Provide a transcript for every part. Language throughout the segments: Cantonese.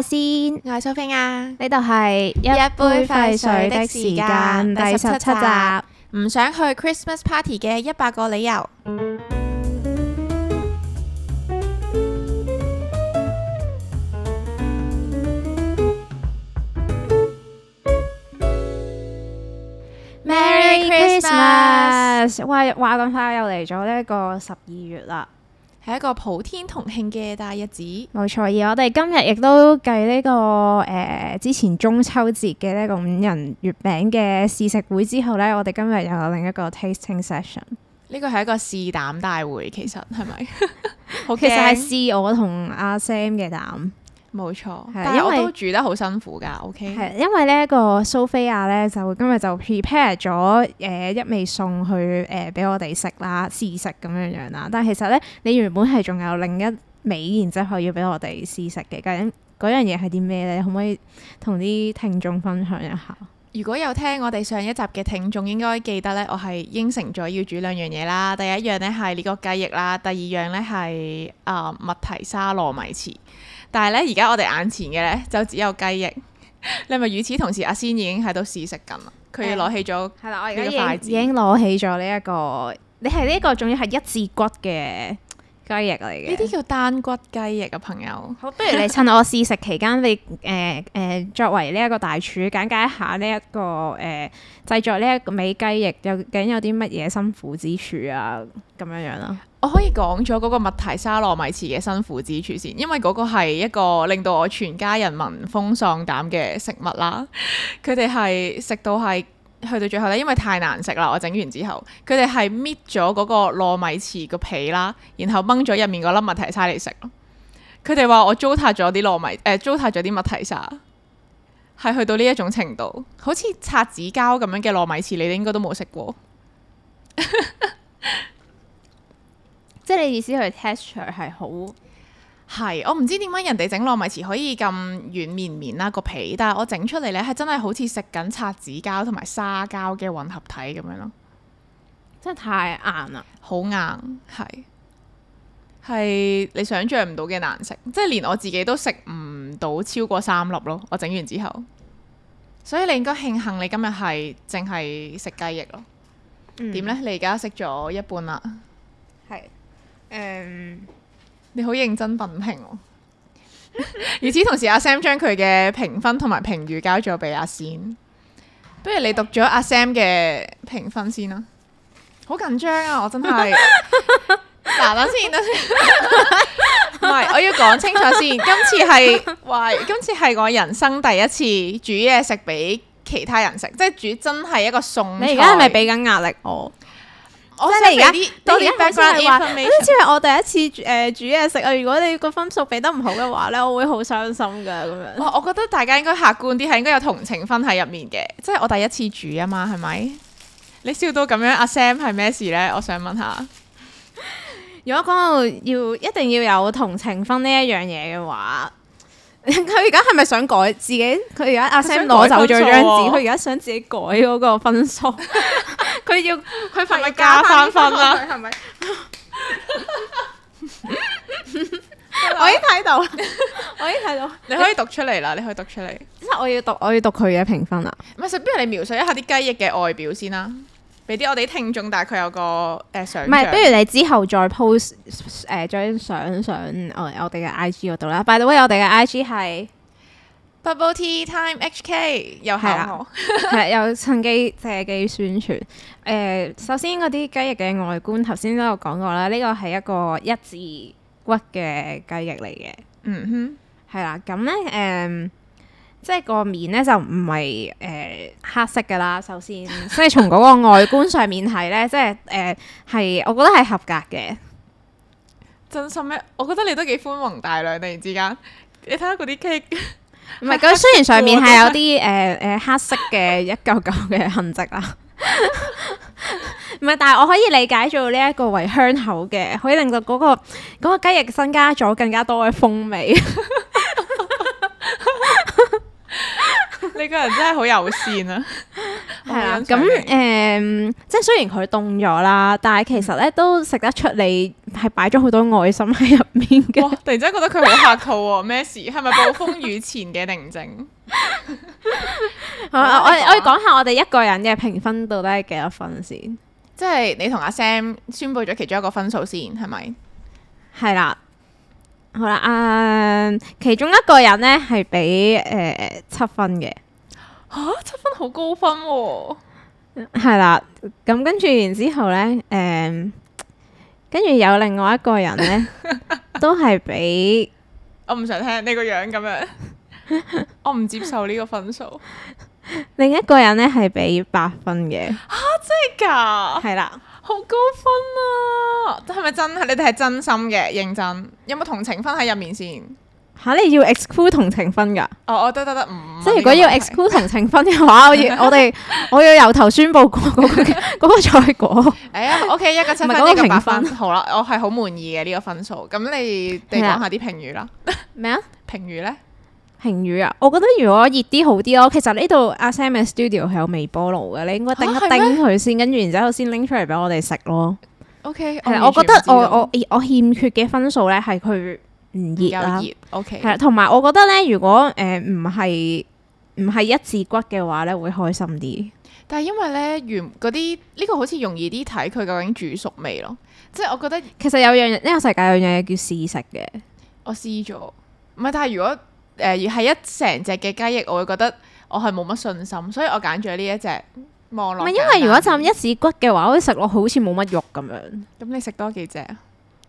阿仙， 我係蘇菲亞， 呢度係一杯廢水的時間第17集， 唔想去 Christmas Party 嘅100個理由。Merry Christmas！ 話咁快又嚟咗呢一個12月啦， 係一個普天同慶嘅大日子。 冇錯，而我哋今日亦都繼呢個之前中秋節嘅呢個5仁月餅嘅試食會之後呢，我哋今日又有另一個 tasting session。 呢個係一個試膽大會，其實係咪？ 其實係試我同阿 Sam 嘅膽。 冇錯，但係我都煮得好辛苦㗎。OK， 係因為呢一個蘇菲亞咧，就今日就 prepare 咗一味餸去俾我哋食啦，試食咁樣樣啦。但係其實咧，你原本係仲有另一味，然之後要俾我哋試食嘅。究竟嗰樣嘢係啲咩咧？可唔可以同啲聽眾分享一下？ 如果有聽我哋上一集嘅聽眾，應該記得咧，我係應承咗要煮兩樣嘢啦。第一樣咧係呢個雞翼啦，第二樣咧係麥提沙糯米糍。但係咧，而家我哋眼前嘅咧就只有雞翼。你係咪與此同時，阿仙已經喺度試食緊啦？佢要攞起咗呢個筷子， 已經攞起咗呢一個。你係呢個仲要係一字骨嘅雞翼嚟嘅。呢啲叫單骨雞翼啊，朋友。 好，不如你趁我試食期間，你作為呢一個大廚，簡介一下呢一個製作呢一個味雞翼究竟有啲乜嘢辛苦之處啊？咁樣樣啦。 我可以講咗嗰個麥提沙糯米糍嘅辛苦之處先，因為嗰個係一個令到我全家人聞風喪膽嘅食物啦。佢哋係食到係去到最後咧，因為太難食啦，我整完之後，佢哋係搣咗嗰個糯米糍個皮啦，然後掹咗入面嗰粒麥提沙嚟食咯。佢哋話我糟蹋咗啲糟蹋咗啲麥提沙，係去到呢一種程度，好似擦紙膠咁樣嘅糯米糍，你哋應該都冇食過。 即係你意思佢 texture 係好係，我唔知點解人哋整糯米糍可以咁軟綿綿啦個皮，但係我整出嚟咧係真係好似食緊擦紙膠同埋沙膠嘅混合體咁樣咯， 真係太硬啦， 好硬，係你想象唔到嘅難食，即係連我自己都食唔到超過3粒咯。我整完之後，所以你應該慶幸你今日係淨係食雞翼咯。點咧？你而家食咗一半啦。 係。 你好認真品評喎。與此同時，阿 Sam 將佢嘅評分同埋評語交咗俾阿仙。不如你讀咗阿 Sam 嘅評分先啦。好緊張啊！我真係嗱，等先，唔係，我要講清楚先。今次係我人生第一次煮嘢食俾其他人食，即係煮真係一個餸菜。 你而家係咪俾緊壓力我？即係你而家多啲 background information，好似係我第一次煮嘢食啊！如果你個分數俾得唔好嘅話咧，我會好傷心㗎咁樣。 我覺得大家應該客觀啲，係應該有同情分喺入面嘅。即係我第一次煮啊嘛，係咪？你笑到咁樣，阿 Sam 係咩事咧？我想問下。 如果講到一定要有同情分呢一樣嘢嘅話，佢而家係咪想改自己？佢而家阿 Sam 攞走咗張紙，佢而家想自己改嗰個分數。佢係咪加翻分啦？係咪？我已經睇到， 你可以讀出嚟啦，你可以讀出嚟。 即係我要讀佢嘅評分啦。 唔係，不如你描述一下啲雞翼嘅外表先啦，俾啲我哋聽眾大概有個想像。 唔係，不如你之後再 post 張相上我哋嘅 IG 嗰度啦。By the way，我哋嘅 IG 係 Bubble Tea Time HK， 又係我係有趁機借機宣傳。首先嗰啲雞翼嘅外觀，頭先都有講過啦。呢個係一個一字骨嘅雞翼嚟嘅。嗯哼，係啦。咁咧即係個面咧就唔係黑色噶啦。首先，所以從嗰個外觀上面睇咧，即係係我覺得係合格嘅。 真心咩？我覺得你都幾寬宏大量，突然之間，你睇下嗰啲 cake。 唔係，佢雖然上面係有啲黑色嘅一嚿嚿嘅痕跡啦，唔係，但係我可以理解做呢一個為香口嘅，可以令到嗰個雞翼增加咗更加多嘅風味。 你個人真係好友善啊！ 係啦，咁即係雖然佢凍咗啦，但係其實咧都食得出你係擺咗好多愛心喺入面嘅。 突然之間覺得佢好客套喎，咩事？係咪暴風雨前嘅寧靜？ 我要講下我哋一個人嘅評分到底係幾多分先？ 即係你同阿 Sam 宣佈咗其中一個分數先，係咪？ 係啦，好啦，其中一個人呢係俾7分嘅。 嚇，7分好高分喎！ 係啦，咁跟住然之後呢，跟住有另外一個人呢，都係俾我唔想聽你個樣咁樣，我唔接受呢個分數。 另一個人呢係俾8分嘅。 真係㗎？係啦， 好高分啊！係咪真？你哋係真心嘅，認真？有冇同情分喺入面先？ 嚇！你要 exclude 同情分㗎？ 我得， 即係如果要 exclude 同情分嘅話，我要由頭宣佈嗰個賽果。 OK， 一個7分，一個8分。好啦，我係好滿意嘅呢個分數。咁你哋講下啲評語啦。 咩啊？ 評語呢？ 評語啊！我覺得如果熱啲好啲咯。其實呢度阿 Sam 嘅 studio 係有微波爐嘅，你應該叮一叮佢先，跟住然之後先拎出嚟俾我哋食咯。 OK， 我覺得我欠缺嘅分數咧係佢唔熱啦。 OK， 係同埋我覺得咧，如果唔係一字骨嘅話咧，會開心啲。 但係因為咧嗰啲呢個好似容易啲睇佢究竟煮熟未咯。即係我覺得其實呢個世界有樣嘢叫試食嘅。 我試咗，唔係，但係如果係一成隻嘅雞翼，我會覺得我係冇乜信心，所以我揀咗呢一隻望落。唔係，因為如果浸一字骨嘅話，我食落好似冇乜肉咁樣。 咁你食多幾隻啊？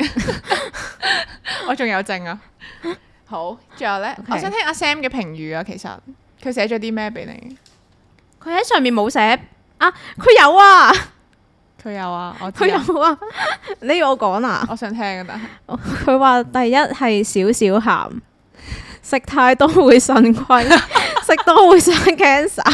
我仲有剩啊！好，最後呢，我想聽阿 Sam 嘅評語啊。其實佢寫咗啲咩俾你？ 佢喺上面冇寫啊，佢有啊， 佢有啊，佢有啊。你要我講啊？ 我想聽啊，但係佢話第一係少少鹹。食太多會腎虧，食多會生 cancer。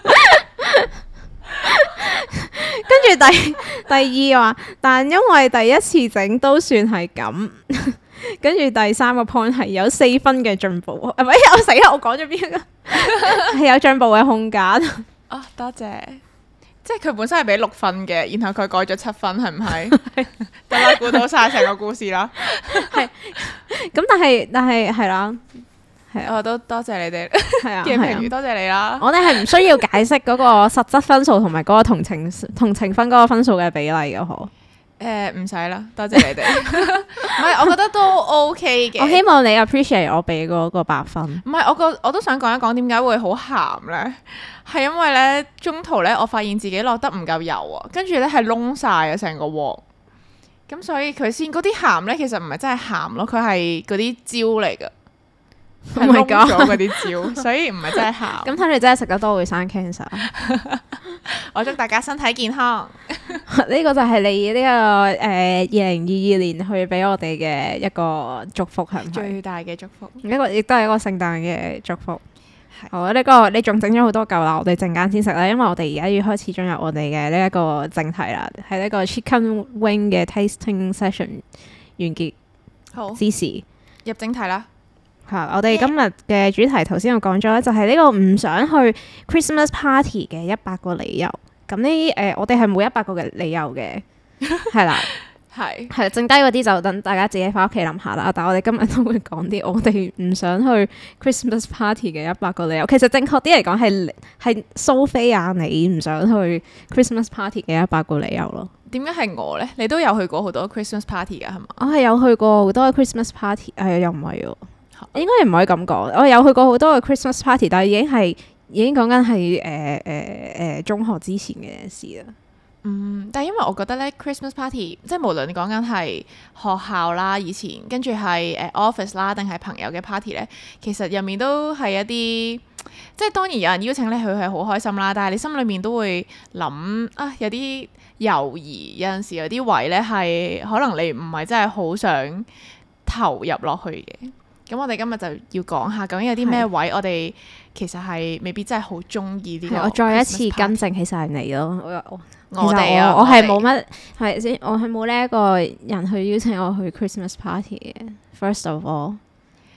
跟住第二話，但因為第一次整都算係咁。跟住第三個 point 係有4分嘅進步，唔係我死啦！我講咗邊個？係有進步嘅空間。 啊，多謝。即係佢本身係俾6分嘅，然後佢改咗7分，係唔係？大家估到晒成個故事啦。係。 咁但係係啦。 我都多謝你哋嘅評語，多謝你啦。 我哋係唔需要解釋嗰個實質分數同埋嗰個同情分嗰個分數嘅比例嘅，嗬？ 唔使啦，多謝你哋。唔係，我覺得都 OK 嘅。 我希望你 appreciate 我俾嗰個8分。 唔係，我都想講一講點解會好鹹咧？係因為咧中途咧，我發現自己落得唔夠油啊，跟住咧係燶晒啊成個鑊。咁所以佢先嗰啲鹹咧，其實唔係真係鹹咯，佢係嗰啲椒嚟㗎。係燶咗嗰啲椒，所以唔係真係鹹。 咁睇嚟真係食得多會生 cancer。 我祝大家身體健康。 呢個就係你呢個2022年去俾我哋嘅一個祝福，係咪？ 最大嘅祝福。 呢個亦都係一個聖誕嘅祝福。好，呢個你仲整咗好多嚿啦，我哋陣間先食啦，因為我哋而家要開始進入我哋嘅呢一個正題啦，係呢個 Chicken Wing 嘅 tasting session 完結之時， 入正題啦。 我哋今日嘅主題頭先我講咗咧，就係呢個唔想去 Christmas party 嘅100個理由。咁呢我哋係冇100個嘅理由嘅，係啦，係剩低嗰啲就等大家自己翻屋企諗下啦。但係我哋今日都會講啲我哋唔想去 Christmas party 嘅100個理由。其實正確啲嚟講係蘇菲亞你唔想去 Christmas party 嘅100個理由咯。 點解係我呢？你都有去過好多 Christmas party 㗎係嘛？ 我係有去過好多 Christmas party，又唔係喎。應該唔可以咁講，我有去過好多嘅 Christmas party，但係已經講緊係中學之前嘅事啦。 但係因為我覺得咧 Christmas party，即係無論你講緊係學校啦，以前跟住係office 啦，定係朋友嘅 party 咧，其實入面都係一啲，即係當然有人邀請你去係好開心啦，但係你心裏面都會諗啊，有啲猶豫，有陣時有啲位咧係可能你唔係真係好想投入落去嘅。咁我哋今日就要講下究竟有啲咩位我哋其實係未必真係好中意呢個。 我再一次更正起晒你咯， 我哋我係冇乜係咪先？我係冇呢一個人去邀請我去 Christmas party 嘅。First of all，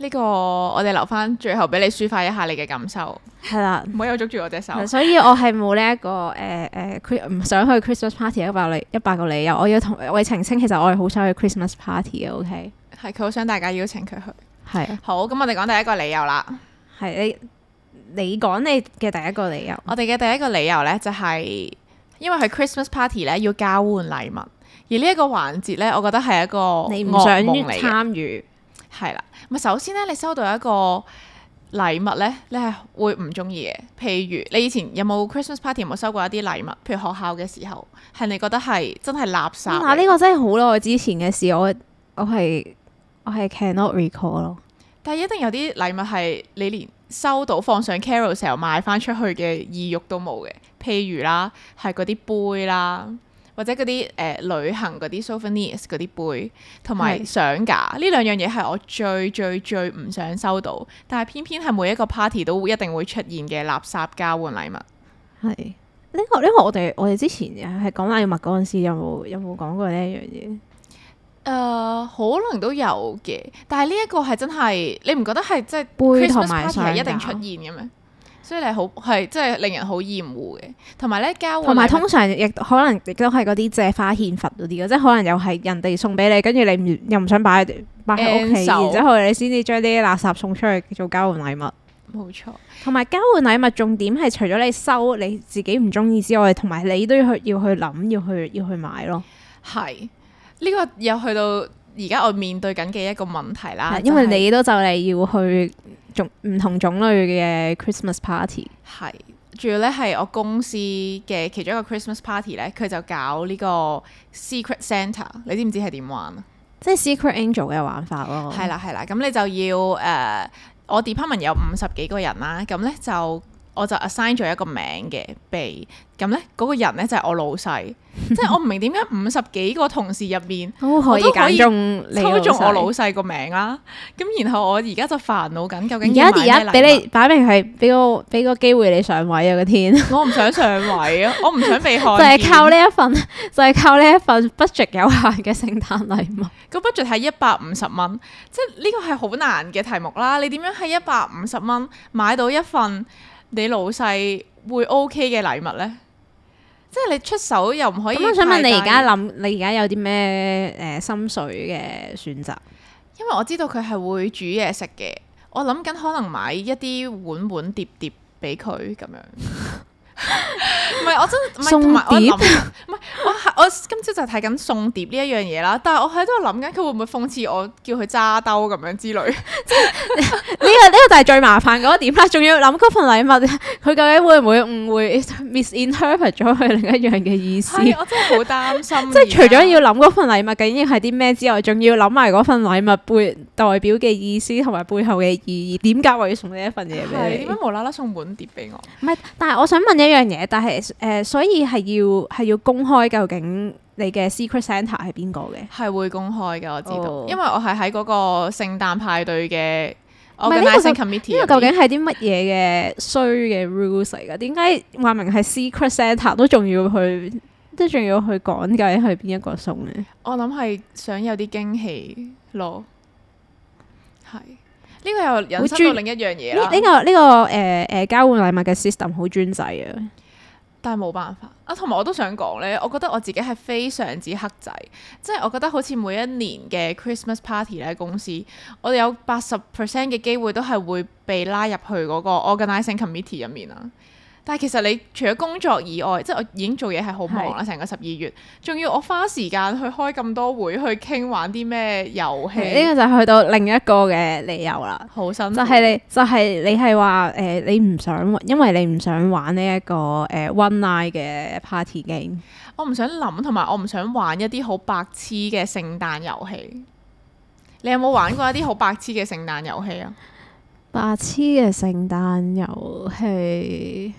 呢個我哋留翻最後俾你抒發一下你嘅感受。 係啦， 唔好又捉住我隻手。 所以我係冇呢一個唔想去 Christmas party 100個理由。我要澄清，其實我係好想去 Christmas party 嘅。OK， 係佢好想大家邀請佢去。 係好，咁我哋講第一個理由啦。 係你講你嘅第一個理由。 我哋嘅第一個理由呢，就係因為去 Christmas party 呢要交換禮物，而呢一個環節呢，我覺得係一個你唔想參與。 係啦，咁首先咧，你收到一個禮物咧，你係會唔中意嘅。譬如你以前有冇 Christmas party 有冇收過一啲禮物？譬如學校嘅時候，係你覺得係真係垃圾。嗱， 呢個真係好耐之前嘅事，我係 cannot recall 咯。 但係一定有啲禮物係你連收到放上 Carousell 賣翻出去嘅意欲都冇嘅。譬如啦，係嗰啲杯啦。或者嗰啲旅行嗰啲 souvenirs 嗰啲杯，同埋相架，呢兩樣嘢係我最唔想收到，但係偏偏係每一個 party 都一定會出現嘅垃圾交換禮物。係呢個我哋之前係講禮物嗰陣時有冇講過呢一樣嘢？ 可能都有嘅，但係呢一個係真係你唔覺得係即係杯同埋 Christmas party 係一定出現嘅咩？所以你係真係令人好厭惡嘅，同埋咧交換， 同埋通常亦可能亦都係嗰啲借花獻佛嗰啲嘅，即係可能又係人哋送俾你，跟住你又唔想擺喺屋企，然之後你先至將啲垃圾送出去做交換禮物。 冇錯， 同埋交換禮物重點係除咗你收你自己唔中意之外，同埋你都要去諗，要去買咯。係呢個又去到而家我面對緊嘅一個問題啦， 因為你都就嚟要去唔同種類嘅 Christmas party。 係，仲要咧係我公司嘅其中一個 Christmas party 咧，佢就搞呢個 Secret Santa， 你知唔知係點玩啊？ 即係 Secret Angel 嘅玩法咯。係啦，咁你就要我 department 有50幾個人啦，咁咧我就 assign 咗一個名嘅俾，咁咧嗰個人咧就係我老細，即係我唔明點解50幾個同事入面都可以揀中抽中我老細個名啦。咁然後我而家就煩惱緊，究竟而家俾你擺明係俾個機會你上位啊！個天， 我唔想上位啊！我唔想被看見。 就係靠呢一份 budget 有限嘅聖誕禮物。 個 budget 係150蚊，即係呢個係好難嘅題目啦。你點樣喺150蚊買到一份你老細會 OK 嘅禮物呢？即係你出手又唔可以。咁我想問你而家有啲咩心水嘅選擇？ 因為我知道佢係會煮嘢食嘅，我諗緊可能買一啲碗碟俾佢咁樣。唔係，我真唔係送碟， 唔係我今朝就睇緊送碟呢一樣嘢啦。但係我喺度諗緊佢會唔會諷刺我叫佢揸兜咁樣之類。 呢個就係最麻煩嗰個點啦。仲要諗嗰份禮物，佢究竟會唔會誤會 misinterpret 咗佢另一樣嘅意思？ 係，我真係好擔心。 即係除咗要諗嗰份禮物究竟係啲咩之外，仲要諗埋嗰份禮物背代表嘅意思同埋背後嘅意義。點解我要送呢一份嘢俾你？ 點解無啦啦送碗碟俾我？ 唔係，但係我想問一樣嘢，但係所以係要公開究竟你嘅 Secret Santa 係邊個嘅？ 係會公開嘅，我知道，因為我係喺嗰個聖誕派對嘅 Organizing Committee。 呢個究竟係啲乜嘢嘅衰嘅 rules 嚟㗎？點解話明係 Secret Santa 都仲要去講究竟係邊一個送咧？ 我諗係想有啲驚喜咯，係。呢個又引申到另一樣嘢啦。 呢個交換禮物嘅 system 好專制啊， 但係冇辦法啊。同埋我都想講咧，我覺得我自己係非常之黑仔，即係我覺得好似每一年嘅 Christmas party 咧，公司我哋有80% 嘅機會都係會被拉入去嗰個 Organizing Committee 入面啊。但係其實你除咗工作以外，即係我已經做嘢係好忙啦，成個12月，仲要我花時間去開咁多會去傾玩啲咩遊戲。 呢個就去到另一個嘅理由啦， 好辛苦。 就係你係話你唔想，因為你唔想玩呢一個one night 嘅 party game。 我唔想諗，同埋我唔想玩一啲好白痴嘅聖誕遊戲。你有冇玩過一啲好白痴嘅聖誕遊戲啊？ 白痴嘅聖誕遊戲。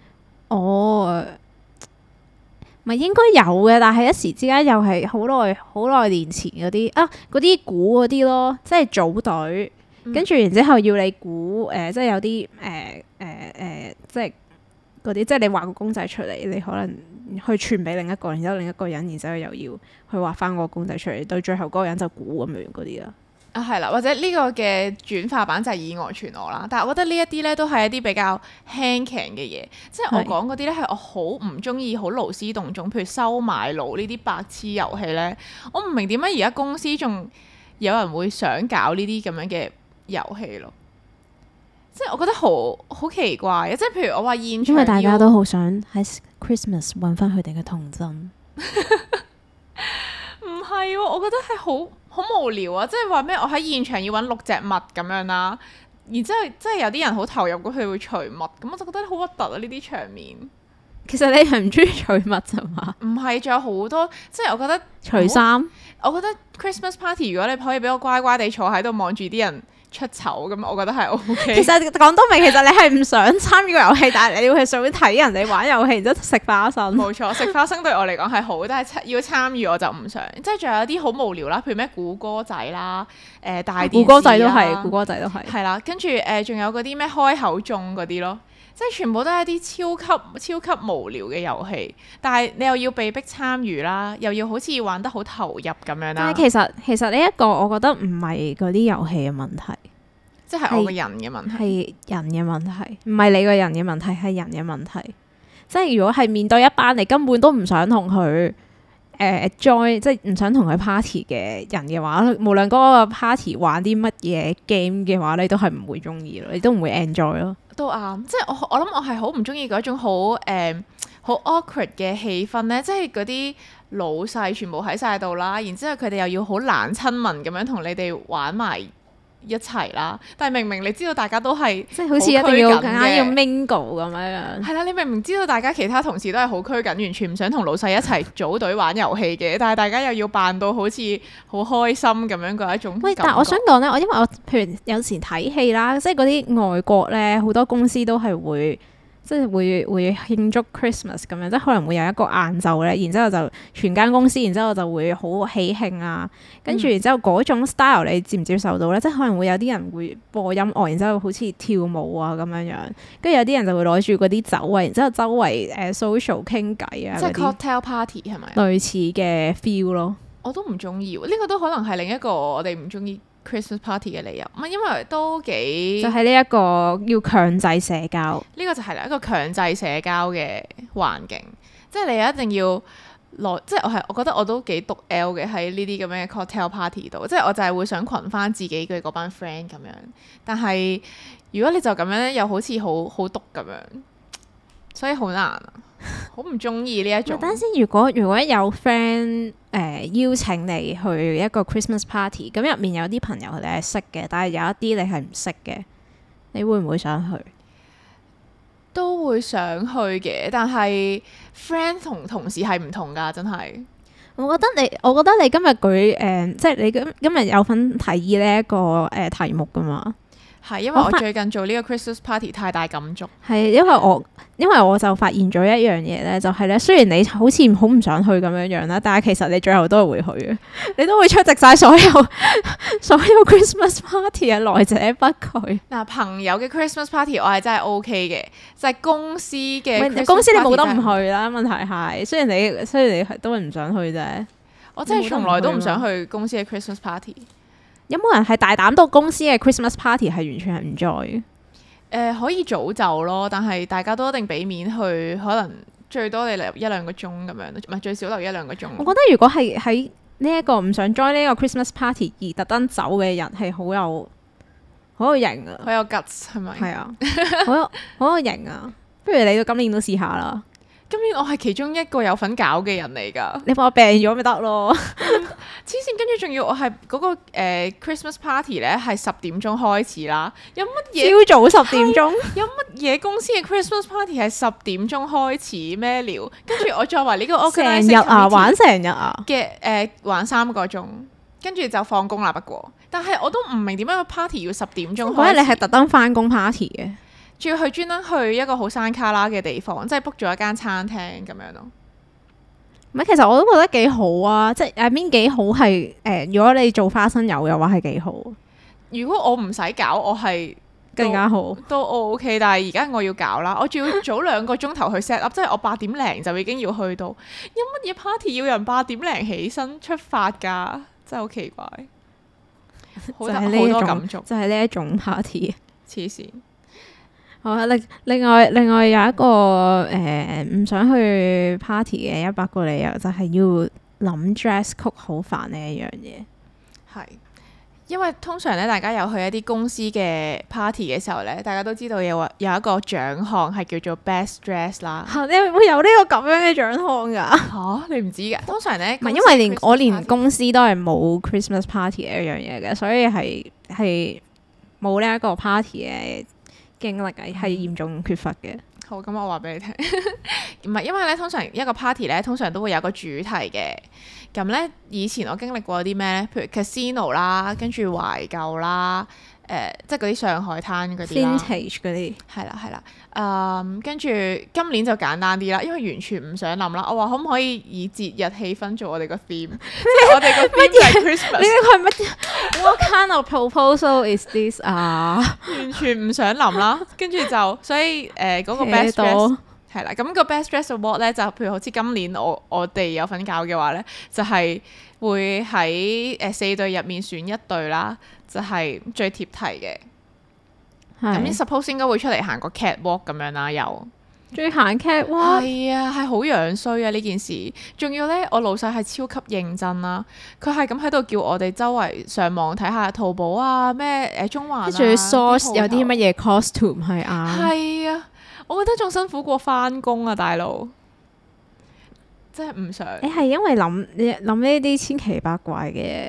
咪應該有嘅，但係一時之間又係好耐年前嗰啲估嗰啲咯，即係組隊，跟住然之後要你估即係有啲即係嗰啲，即係你畫個公仔出嚟，你可能去傳俾另一個，然之後另一個人，然之後又要去畫翻個公仔出嚟，到最後嗰個人就估咁樣嗰啲啦。 啊，係啦，或者呢個嘅轉化版就係以訛傳訛啦。但係我覺得呢一啲咧都係一啲比較輕鬆嘅嘢，即係我講嗰啲咧係我好唔中意、好勞師動眾，譬如收買佬呢啲白痴遊戲咧，我唔明點解而家公司仲有人會想搞呢啲咁樣嘅遊戲咯。即係我覺得好奇怪嘅，即係譬如我話現場， 因為大家都好想喺 Christmas 揾翻佢哋嘅童真。 唔係喎，我覺得係好無聊啊！即係話咩？我喺現場要揾6隻襪咁樣啦，然之後即係有啲人好投入，咁佢會除襪，咁我就覺得好核突啊！呢啲場面。其實你係唔中意除襪咋嘛？唔係，仲有好多，即係我覺得除衫。 我覺得 Christmas party 如果你可以俾我乖乖地坐喺度望住啲人出醜，咁我覺得係 OK。其實講到明，其實你係唔想參與個遊戲，但係你要係想睇人哋玩遊戲，然之後食花生。 冇錯，食花生對我嚟講係好，但係要參與我就唔想。即係仲有啲好無聊啦，譬如咩估歌仔啦，大電視啦， 估歌仔都係，估歌仔都係。 係啦，跟住仲有嗰啲咩開口中嗰啲咯。即係全部都係一啲超級無聊嘅遊戲，但係你又要被逼參與啦，又要好似玩得好投入咁樣啦。 但係其實呢一個我覺得唔係嗰啲遊戲嘅問題， 即係我個人嘅問題， 係人嘅問題，唔係你個人嘅問題，係人嘅問題。即係如果係面對一班你根本都唔想同佢join，即係唔想同佢 party 嘅人嘅話，無論嗰個 party 玩啲乜嘢 game 嘅話，你都係唔會中意咯，你都唔會 enjoy 咯。 都啱，即係我諗我係好唔中意嗰種好awkward 嘅氣氛咧，即係嗰啲老細全部喺晒度啦，然之後佢哋又要好懶親民咁樣同你哋玩埋一齊啦，但係明明你知道大家都係即係好似一定要更加要 mingle 咁樣。 係啦，你明明知道大家其他同事都係好拘謹，完全唔想同老細一齊組隊玩遊戲嘅，但係大家又要扮到好似好開心咁樣嗰一種感覺。喂， 但係我想講咧，因為我譬如有時睇戲啦，即係嗰啲外國咧，好多公司都係會。即係會慶祝 Christmas 咁樣，即係可能會有一個晏晝咧，然之後就全間公司，然之後就會好喜慶啊，跟住然之後嗰種 style 你接唔接受到咧？即係可能會有啲人會播音樂，然之後好似跳舞啊咁樣樣，跟住有啲人就會攞住嗰啲酒啊，然之後周圍social 傾偈啊， 即係 cocktail party 係咪？ 類似嘅 feel 咯。 我都唔中意，呢個都可能係另一個我哋唔中意 Christmas party 嘅理由，因為都幾就係呢一個要強制社交， 呢個就係一個強制社交嘅環境，即係你一定要即係我覺得我都幾毒 L 嘅喺呢啲咁樣嘅 cocktail party 度，即係我就係會想群翻自己嘅嗰班 friend 咁樣，但係如果你就咁樣咧，又好似好毒咁樣，所以好難啊，好唔中意呢一種。 等先，如果有 friend邀請你去一個 Christmas party， 咁入面有啲朋友你係識嘅，但係有一啲你係唔識嘅，你會唔會想去？ 都會想去嘅，但係 friend 同同事係唔同㗎，真係。我覺得你今日舉即係你今日有份提議呢一個題目㗎嘛？ 係，因為我最近做呢個 Christmas party 太大感觸。係， 因為我就發現咗一樣嘢咧，就係咧，雖然你好似好唔想去咁樣樣啦，但係其實你最後都係會去嘅，你都會出席晒所有 Christmas party 嘅，來者不拒。 嗱，朋友嘅 Christmas party 我係真係 OK 嘅，就係公司嘅公司你冇得唔去啦。問題係雖然你都係唔想去啫， 我真係從來都唔想去公司嘅 Christmas party。 有冇人係大膽到公司嘅 Christmas party 係完全係唔 join 嘅？ 可以早走咯，但係大家都一定俾面去，可能最多你留1-2個鐘咁樣，唔係最少留1-2個鐘。我覺得如果係喺呢一個唔想 join 呢個 Christmas party 而特登走嘅人係好有型啊， 好有 guts 係咪？ 係啊，好有型啊！不如你到今年都試下啦。 今年我係其中一個有份搞嘅人嚟㗎。 你話我病咗咪得咯？ 黐線，跟住仲要我係嗰個Christmas party 咧，係10點鐘開始啦。有乜嘢？ 朝早10點鐘？ 有乜嘢公司嘅 Christmas party 係10點鐘開始咩料？跟住我作為呢個 organizing 成日啊，玩成日啊嘅玩3個鐘，跟住就放工啦。不過，但係我都唔明點解個 party 要10點鐘開始。 嗰日你係特登返工 party 嘅？ 仲要去專登去一個好山卡拉嘅地方，即係 book 咗一間餐廳咁樣咯。 唔係，其實我都覺得幾好啊，即係邊幾好係如果你做花生油嘅話係幾好。 如果我唔使搞，我係更加好， 都 OK。但係而家我要搞啦，我仲要早2個鐘頭去 set up，即係我8點零就已經要去到。有乜嘢 party 要人8點零起身出發㗎？真係好奇怪。 好多感觸， 就係呢一種 party。 黐線。 好啊，另外有一個唔想去 party 嘅100個理由，就係要諗 dress code 好煩呢一樣嘢。 係。因為通常咧，大家有去一啲公司嘅 party 嘅時候咧，大家都知道有一個獎項係叫做 best dress 啦。 你會有呢個咁樣嘅獎項㗎？ 你唔知㗎？通常咧， 唔係因為我連公司都係冇 Christmas party 嘅一樣嘢嘅，所以係冇呢一個 party 嘅經歷係嚴重缺乏嘅。 好，咁我話俾你聽，唔係因為咧，通常一個 party 咧，通常都會有個主題嘅。咁咧，以前我經歷過啲咩咧？譬如 casino 啦，跟住懷舊啦，即係嗰啲上海灘嗰啲啦 vintage 嗰啲。係啦，跟住今年就簡單啲啦，因為完全唔想諗啦。我話可唔可以以節日氣氛做我哋個 theme？ 即係我哋個 theme 就係 Christmas。呢個係乜 ？What kind of proposal is this 啊？ 完全唔想諗啦，跟住就所以嗰個 best dress。係啦，咁個 Best Dress Award 咧，就譬如好似今年我哋有份搞嘅話咧，就係會喺4隊入面選一隊啦，就係最貼題嘅。咁 suppose 應該會出嚟行個 catwalk 咁樣啦，又最行 catwalk。 係啊，係好樣衰啊呢件事。仲要咧，我老細係超級認真啦，佢係咁喺度叫我哋周圍上網睇下淘寶啊，咩中環啊， 仲要 source 有啲乜嘢 costume 係啱。 係啊。我覺得仲辛苦過返工啊，大佬！真係唔想。 你係因為諗呢啲千奇百怪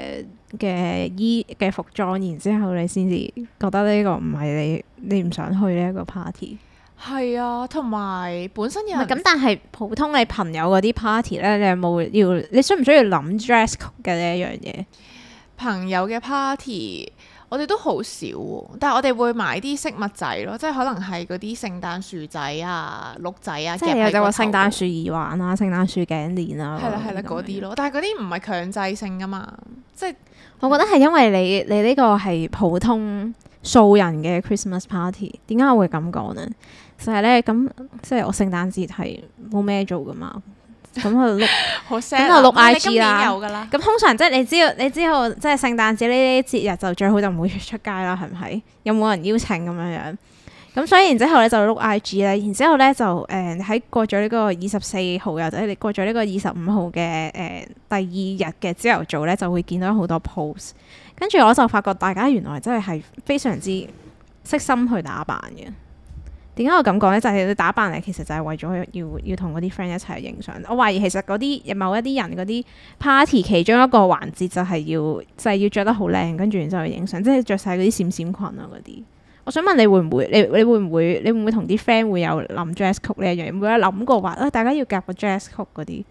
嘅服裝，然之後你先至覺得呢個唔係你唔想去呢一個 party。 係啊，同埋本身有咁，但係普通你朋友嗰啲 party 咧，你有冇你需唔需要諗 dress code 嘅呢一樣嘢？ 朋友嘅 party。我哋都好少喎，但係我哋會買啲飾物仔咯，即係可能係嗰啲聖誕樹仔啊、鹿仔啊， 即係有個聖誕樹耳環啊、聖誕樹頸鏈啊， 係啦嗰啲咯。但係嗰啲唔係強制性噶嘛，即係我覺得係因為你呢個係普通素人嘅 Christmas party。點解我會咁講呢？就係咧咁，即係我聖誕節係冇咩做噶嘛。咁就碌 IG 啦。咁通常即係你知道即係聖誕節呢啲節日就最好就唔會出街啦，係咪？有冇人邀請咁樣樣？咁所以然之後咧就碌 IG 咧，然之後咧就喺過咗呢個24號或者你過咗呢個25號嘅第2日嘅朝頭早咧，就會見到好多 post。跟住我就發覺大家原來真係非常之悉心去打扮嘅。點解我咁講呢？就係你打扮嚟，其實就係為咗要同嗰啲 friend 一齊影相。我懷疑其實嗰啲某一啲人嗰啲 party 其中一個環節就係要着得好靚，跟住然之後去影相，即係着晒嗰啲閃閃裙啊嗰啲。我想問你會唔會？你會唔會同啲 friend 會有諗 dress code 呢一樣嘢？會有諗過話大家要夾個 dress code 嗰啲？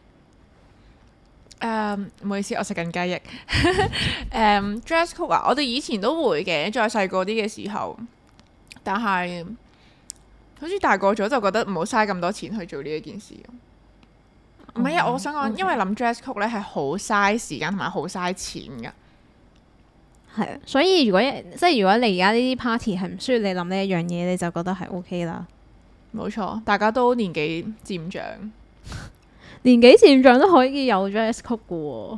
唔好意思，我食緊雞翼。dress code 啊，我哋以前都會嘅，再細個啲嘅時候，但係。好似大個咗就覺得唔好嘥咁多錢去做呢一件事。唔係啊，我想講，因為諗 dress code 咧係好嘥時間同埋好嘥錢噶。 係啊，所以如果你而家呢啲 party 係唔需要你諗呢一樣嘢，你就覺得係 OK 啦。 冇錯，大家都年紀漸長， 年紀漸長都可以有 dress code 噶喎。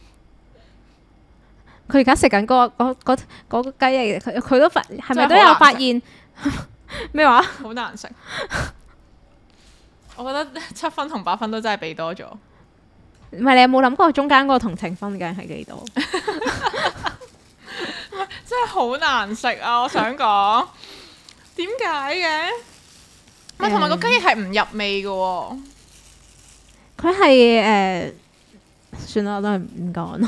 佢而家食緊嗰個雞翼，佢都係咪都有發現？咩話？ 好難食。我覺得7分同8分都真係俾多咗。 唔係，你有冇諗過中間嗰個同情分究竟係幾多？ 真係好難食啊！我想講點解嘅？唔係同埋個雞翼係唔入味嘅喎。 佢係算啦，我都係唔講。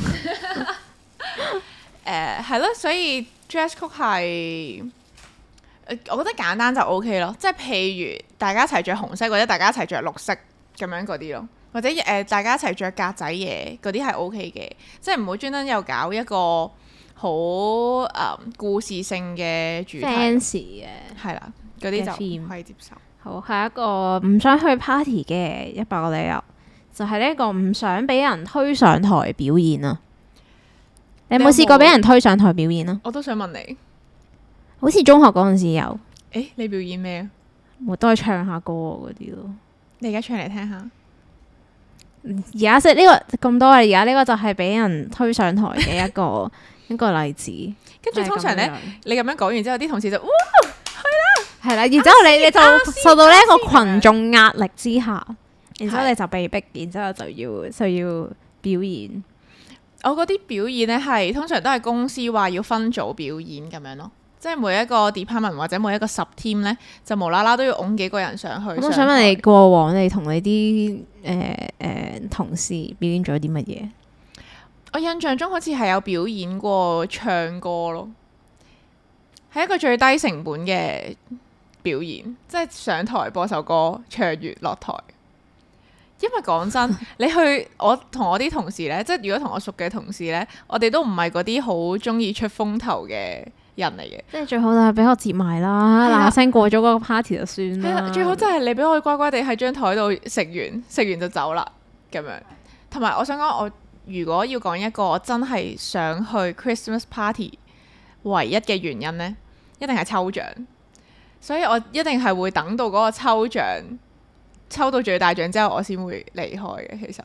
係咯，所以 dress code 係。我覺得簡單就 OK 咯，即係譬如大家一齊着紅色，或者大家一齊着綠色咁樣嗰啲咯，或者大家一齊着格仔嘢嗰啲係 OK 嘅，即係唔好專登又搞一個好故事性嘅主題 fancy 嘅， 係啦，嗰啲就唔可以接受。 好，下一個唔想去 party 嘅100個理由，就係呢一個唔想俾人推上台表演啊！你有冇試過俾人推上台表演啊？ 我都想問你。 好似中學嗰陣時有。 你表演咩啊？ 我都係唱下歌嗰啲咯。 你而家唱嚟聽下。而家識呢個咁多啊！而家呢個就係俾人推上台嘅一個一個例子。 跟住通常咧，你咁樣講完之後，啲同事就哇係啦，然之後你就受到呢一個群眾壓力之下，然之後你就被逼，然之後就要表演。 我嗰啲表演咧係通常都係公司話要分組表演咁樣咯，即係每一個 department 或者每一個 sub team 咧，就無啦啦都要擁幾個人上去。 我想問你過往你同你啲同事表演咗啲乜嘢？ 我印象中好似係有表演過唱歌咯，係一個最低成本嘅表演，即係上台播首歌，唱完落台。因為講真，你去我同我啲同事呢，即係如果同我熟嘅同事呢，我哋都唔係嗰啲好中意出風頭嘅人嚟嘅。 即係最好就係俾我接埋啦，嗱嗱聲過咗嗰個 party 就算啦。 最好就係你俾我乖乖地喺張台度食完就走啦咁樣。同埋我想講，我如果要講一個我真係想去 Christmas party 唯一嘅原因呢，一定係抽獎。所以我一定係會等到嗰個抽獎抽到最大獎之後，我先會離開嘅。其實，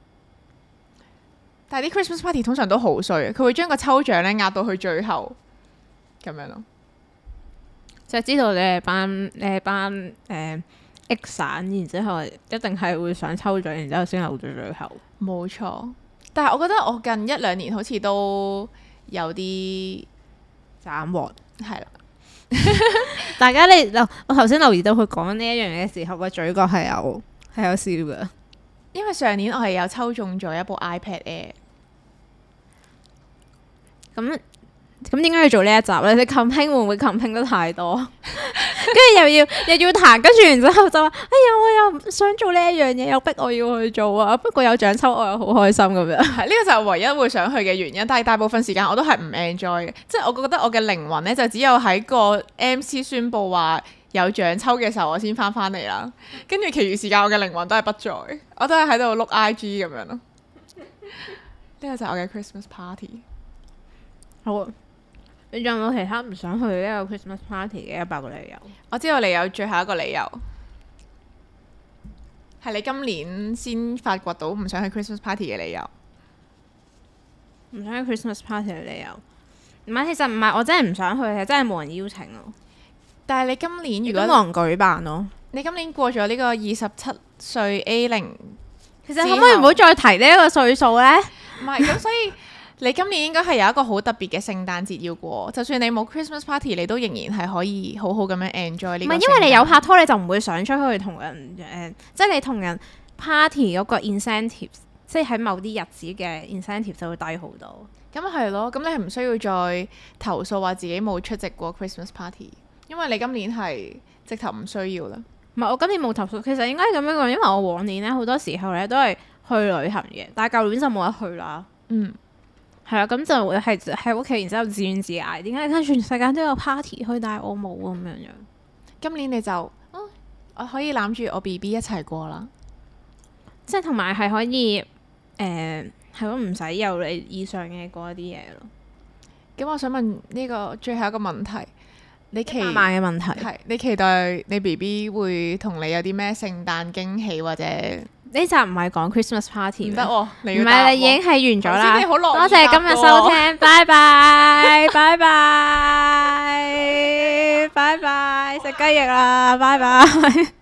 但係啲 Christmas party 通常都好衰嘅，佢會將個抽獎咧壓到去最後咁樣咯。 就知道你係班X 散，然之後一定係會想抽獎，然之後先留到最後。 冇錯，但係我覺得我近一兩年好似都有啲斬獲， 係啦。 大家我頭先留意到佢講呢一樣嘢嘅時候，個嘴角係有笑嘅。 因為上年我係有抽中咗一部 iPad Air。 咁點解要做呢一集咧？你 campaign 會唔會 campaign 得太多？跟住又要彈，跟住然之後就話：哎呀，我又想做呢一樣嘢，又逼我要去做啊！不過有獎抽，我又好開心咁樣。係呢個就係唯一會想去嘅原因。但係大部分時間我都係唔 enjoy 嘅，即係我覺得我嘅靈魂咧就只有喺個 MC 宣佈話有獎抽嘅時候，我先翻嚟啦。跟住其餘時間我嘅靈魂都係不在，我都係喺度碌 IG 咁樣咯。呢個就係我嘅 Christmas party。 好啊。你仲有冇其他唔想去呢個 Christmas party 嘅100個理由？ 我知道你有最後一個理由，係你今年先發掘到唔想去 Christmas party 嘅理由。 唔想去 Christmas party 嘅理由，唔係，其實唔係我真係唔想去，係真係冇人邀請咯。 但係你今年如果冇人舉辦咯， 你今年過咗呢個27歲 A0， 其實可唔可以唔好再提呢一個歲數呢？ 唔係咁，所以。你今年應該係有一個好特別嘅聖誕節要過，就算你冇 Christmas party，你都仍然係可以好好咁樣 enjoy 呢個。唔係因為你有拍拖，你就唔會想出去同人即係你同人 party 嗰個 incentive， 即係喺某啲日子嘅 incentive 就會低好多。 咁係咯，咁你係唔需要再投訴話自己冇出席過 Christmas party， 因為你今年係直頭唔需要啦。 唔係我今年冇投訴，其實應該咁樣講，因為我往年咧好多時候咧都係去旅行嘅，但係舊年就冇得去啦。係啊，咁就會係喺屋企，然之後自怨自艾。點解全世界都有 party 去，但係我冇咁樣樣？ 今年你就，我可以攬住我 BB 一齊過啦。 即係同埋係可以，係咯，唔使有你以上嘅嗰一啲嘢咯。 咁我想問呢個最後一個問題，你 100萬嘅問題係你期待你 BB 會同你有啲咩聖誕驚喜或者？ 呢集唔係講 Christmas party， 唔得喎， 唔係你已經係完咗啦。多謝今日收聽，拜拜，拜拜，拜拜，食雞翼啦，拜拜。